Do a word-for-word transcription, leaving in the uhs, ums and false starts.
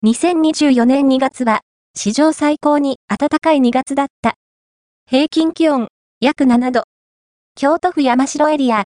にせんにじゅうよねんにがつは、史上最高に暖かいにがつだった。平均気温、約ななど。京都府山城エリア、